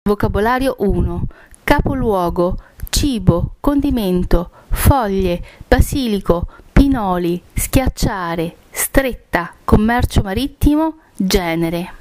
Vocabolario 1. Capoluogo, cibo, condimento, foglie, basilico, pinoli, schiacciare, stretta, commercio marittimo, genere.